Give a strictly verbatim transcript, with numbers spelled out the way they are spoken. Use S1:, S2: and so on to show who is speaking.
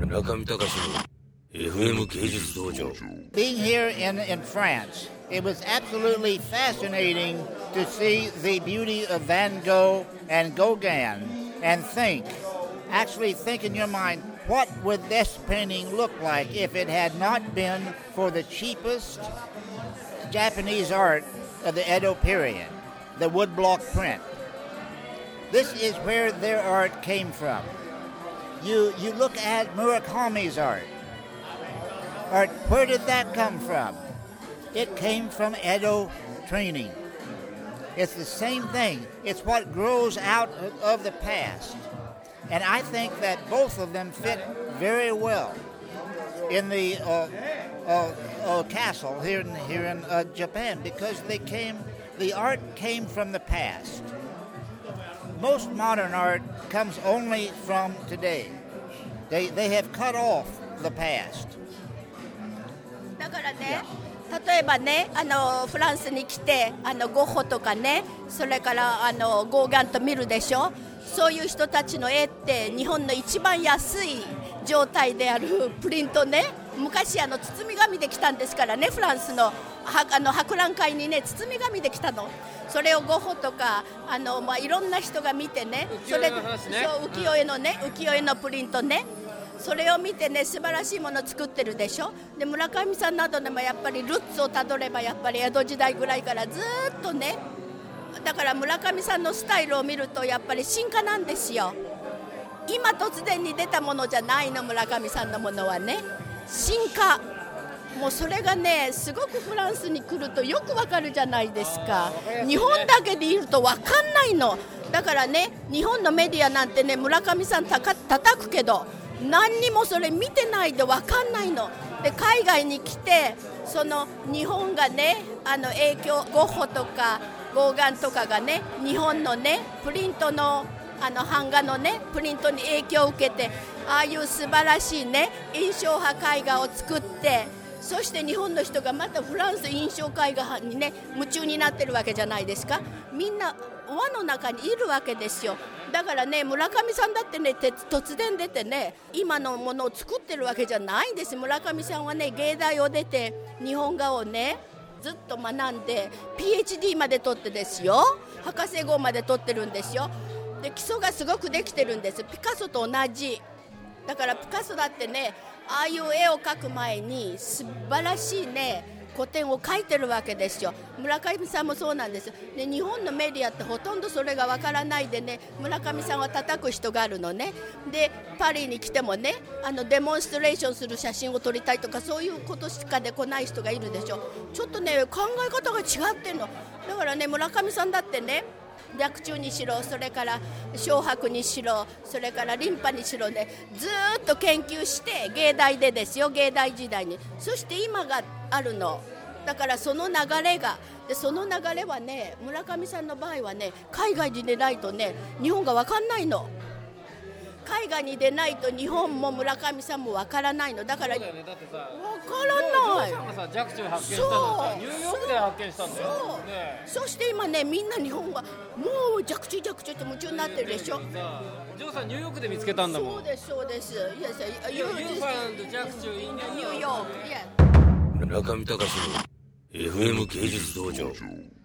S1: 村上隆の エフエム 芸術道場
S2: Being here in, in France, it was absolutely fascinating to see the beauty of Van Gogh and Gauguin and think, actually think in your mind, what would this painting look like if it had not been for the cheapest Japanese art of the Edo period, the woodblock print. This is where their art came from. You, you look at Murakami's art. Art, where did that come from? It came from Edo training. It's the same thing. It's what grows out of the past. And I think that both of them fit very well in the uh, uh, uh, castle here in, here in uh, Japan because they came, the art came from the past. Most modern art comes only from today. They, they have cut off the past.
S3: だからね、例えばね、あのフランスに来てあのゴッホとかね、それからあのゴーガンと見るでしょ。そういう人たちの絵って日本の一番安い状態であるプリントね、昔あの包み紙で来たんですからね、フランスのはあの博覧会にね包み紙で来たの。それをゴッホとかあの、まあ、いろんな人が見てね、それそう浮世絵のね、浮世絵のプリントね、それを見てね素晴らしいものを作ってるでしょ。で村上さんなどでもやっぱりルッツをたどればやっぱり江戸時代ぐらいからずっとね、だから村上さんのスタイルを見るとやっぱり進化なんですよ。今突然に出たものじゃないの、村上さんのものはね進化。もうそれがねすごくフランスに来るとよくわかるじゃないですか。日本だけでいるとわかんないの。だからね日本のメディアなんてね村上さんたか叩くけど何にもそれ見てないでわかんないの。で海外に来てその日本がねあの影響、ゴッホとかゴーガンとかがね日本のねプリントのあの版画のねプリントに影響を受けて、ああいう素晴らしいね印象派絵画を作って、そして日本の人がまたフランス印象絵画にね夢中になってるわけじゃないですか。みんな輪の中にいるわけですよ。だからね村上さんだってね突然出てね今のものを作ってるわけじゃないんです。村上さんはね芸大を出て日本画をねずっと学んで ピーエイチディー まで取ってですよ、博士号まで取ってるんですよ。で基礎がすごくできてるんです。ピカソと同じだからピカソだってねああいう絵を描く前に素晴らしいね古典を描いてるわけですよ。村上さんもそうなんです。で日本のメディアってほとんどそれがわからないでね村上さんは叩く人があるのね。でパリに来てもねあのデモンストレーションする写真を撮りたいとかそういうことしかで来ない人がいるでしょ。ちょっとね考え方が違ってんの。だからね村上さんだってね白昼にしろそれから小白にしろそれからリンパにしろねずーっと研究して芸大でですよ、芸大時代に。そして今があるのだからその流れがでその流れはね村上さんの場合はね海外に出ないとね日本が分かんないの。海外に出ないと日本も村上さんも分からないの。だから分からない。
S4: 若冲発見したのはニューヨークで発見したんだよ。
S3: そう、ね、そして今ねみんな日本はもう若冲若冲って夢中になってるでしょ。
S4: ジョーさんニューヨークで見つけたんだもん。
S3: そうですそうです。Yes,
S4: you found 若冲 in New York.
S3: New York. Yeah.
S1: 村上隆の エフエム 芸術道場。